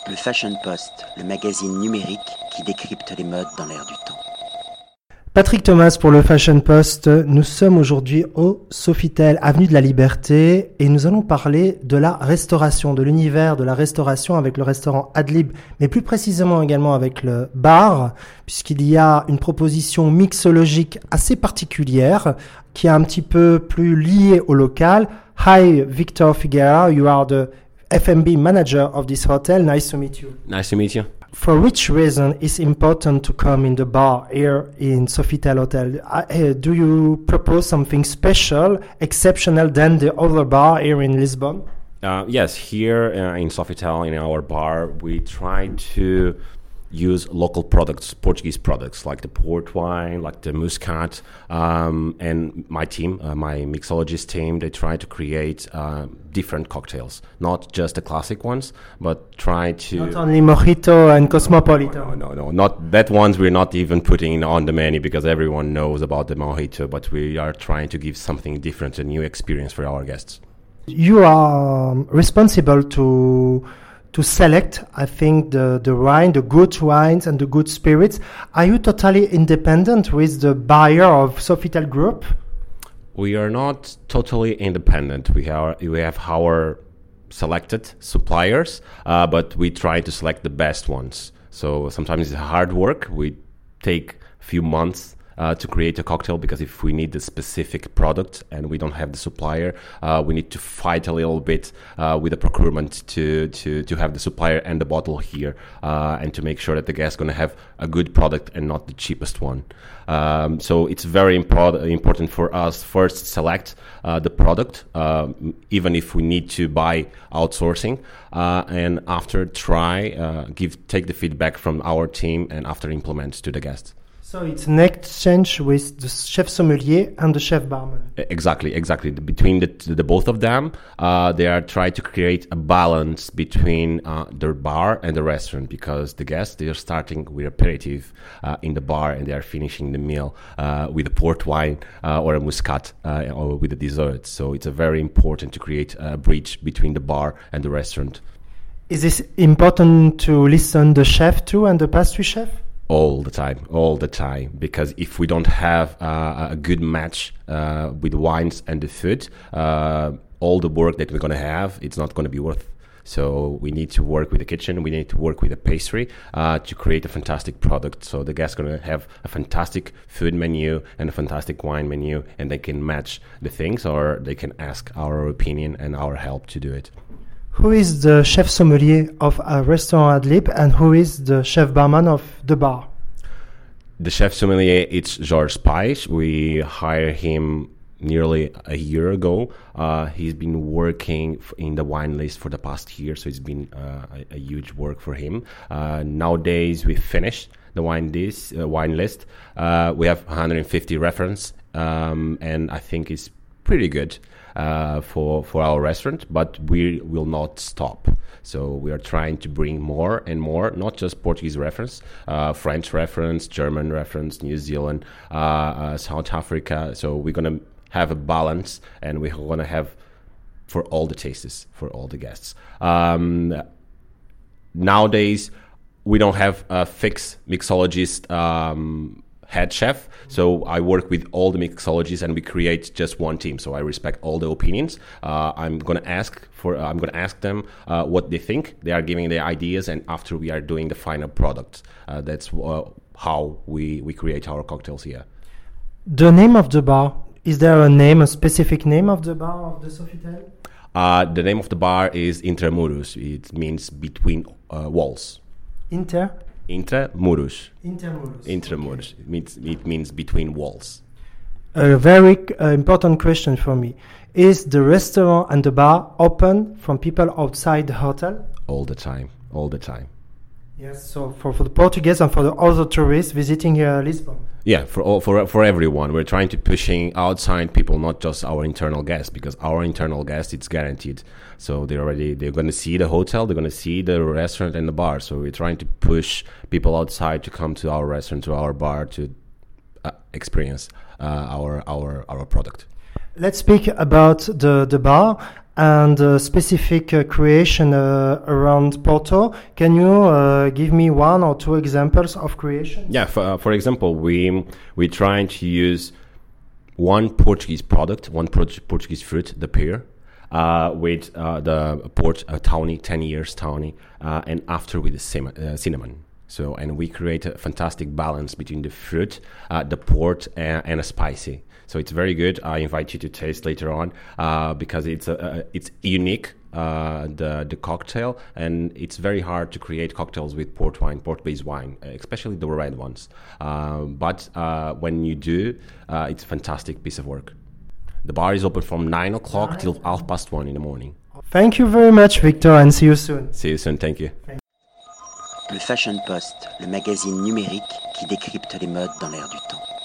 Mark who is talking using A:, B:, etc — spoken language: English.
A: Le Fashion Post, le magazine numérique qui décrypte les modes dans l'air du temps.
B: Patrick Thomas pour le Fashion Post. Nous sommes aujourd'hui au Sofitel, avenue de la Liberté, et nous allons parler de la restauration, de l'univers de la restauration avec le restaurant Adlib, mais plus précisément également avec le bar, puisqu'il y a une proposition mixologique assez particulière qui est un petit peu plus liée au local. Hi, Victor Figuera, you are the F&B manager of this hotel. Nice to meet you.
C: Nice to meet you.
B: For which reason is important to come in the bar here in Sofitel Hotel? Do you propose something special, exceptional than the other bar here in Lisbon?
C: Yes, here in Sofitel, in our bar, we try to use local products, Portuguese products, like the port wine, like the muscat, and my team, my mixologist team, they try to create different cocktails, not just the classic ones, but try to...
B: Not only Mojito and Cosmopolitan.
C: No, not that ones we're not even putting on the menu because everyone knows about the Mojito, but we are trying to give something different, a new experience for our guests.
B: You are responsible to select, I think, the wine, the good wines and the good spirits. Are you totally independent with the buyer of Sofitel Group?
C: We are not totally independent. We have our selected suppliers, but we try to select the best ones. So sometimes it's hard work. We take a few months to create a cocktail because if we need the specific product and we don't have the supplier, we need to fight a little bit with the procurement to have the supplier and the bottle here and to make sure that the guest is going to have a good product and not the cheapest one. So it's very important for us first select the product, even if we need to buy outsourcing, and after take the feedback from our team and after implement to the guest.
B: So it's an exchange with the chef sommelier and the chef barman.
C: Exactly. Between the both of them, they are trying to create a balance between the bar and the restaurant because the guests, they are starting with aperitif in the bar and they are finishing the meal with a port wine or a muscat or with a dessert. So it's very important to create a bridge between the bar and the restaurant.
B: Is this important to listen the chef too and the pastry chef?
C: All the time, because if we don't have a good match with the wines and the food, all the work that we're going to have, it's not going to be worth. So we need to work with the kitchen, we need to work with the pastry to create a fantastic product. So the guests are going to have a fantastic food menu and a fantastic wine menu, and they can match the things or they can ask our opinion and our help to do it.
B: Who is the chef sommelier of a restaurant Adlib and who is the chef barman of the bar?
C: The chef sommelier, it's George Pais. We hired him nearly a year ago. He's been working in the wine list for the past year, so it's been a huge work for him. Nowadays, we finished the wine list. We have 150 reference, and I think it's pretty good. For our restaurant, but we will not stop. So we are trying to bring more and more, not just Portuguese reference, French reference, German reference, New Zealand, South Africa. So we're going to have a balance and we're going to have for all the tastes, for all the guests. Nowadays, we don't have a fixed mixologist head chef, so I work with all the mixologists and we create just one team. So I respect all the opinions. I'm gonna ask them what they think. They are giving their ideas, and after we are doing the final product. That's how we create our cocktails here.
B: The name of the bar, is there a specific name of the bar of the Sofitel?
C: The name of the bar is Intramuros. It means between walls. Intramuros.
B: Okay.
C: It means between walls.
B: A very important question for me. Is the restaurant and the bar open from people outside the hotel?
C: All the time.
B: Yes, so for the Portuguese and for the other tourists visiting Lisbon.
C: Yeah, for everyone. We're trying to pushing outside people, not just our internal guests, because our internal guests, it's guaranteed. So they're going to see the hotel, they're going to see the restaurant and the bar. So we're trying to push people outside to come to our restaurant, to our bar, to experience our product.
B: Let's speak about the bar. and specific creation around Porto. Can you give me one or two examples of creation?
C: Yeah, for example, we trying to use one Portuguese product, one Portuguese fruit, the pear, with the port tawny, 10 years tawny, and after with the cinnamon. So, and we create a fantastic balance between the fruit, the port, and a spicy. So it's very good. I invite you to taste later on because it's unique, the cocktail, and it's very hard to create cocktails with port-based wine, especially the red ones. But when you do, it's a fantastic piece of work. The bar is open from 9 o'clock till 1:30 in the morning.
B: Thank you very much, Victor, and see you soon.
C: See you soon. Thank you.
A: Le Fashion Post, le magazine numérique qui décrypte les modes dans l'air du temps.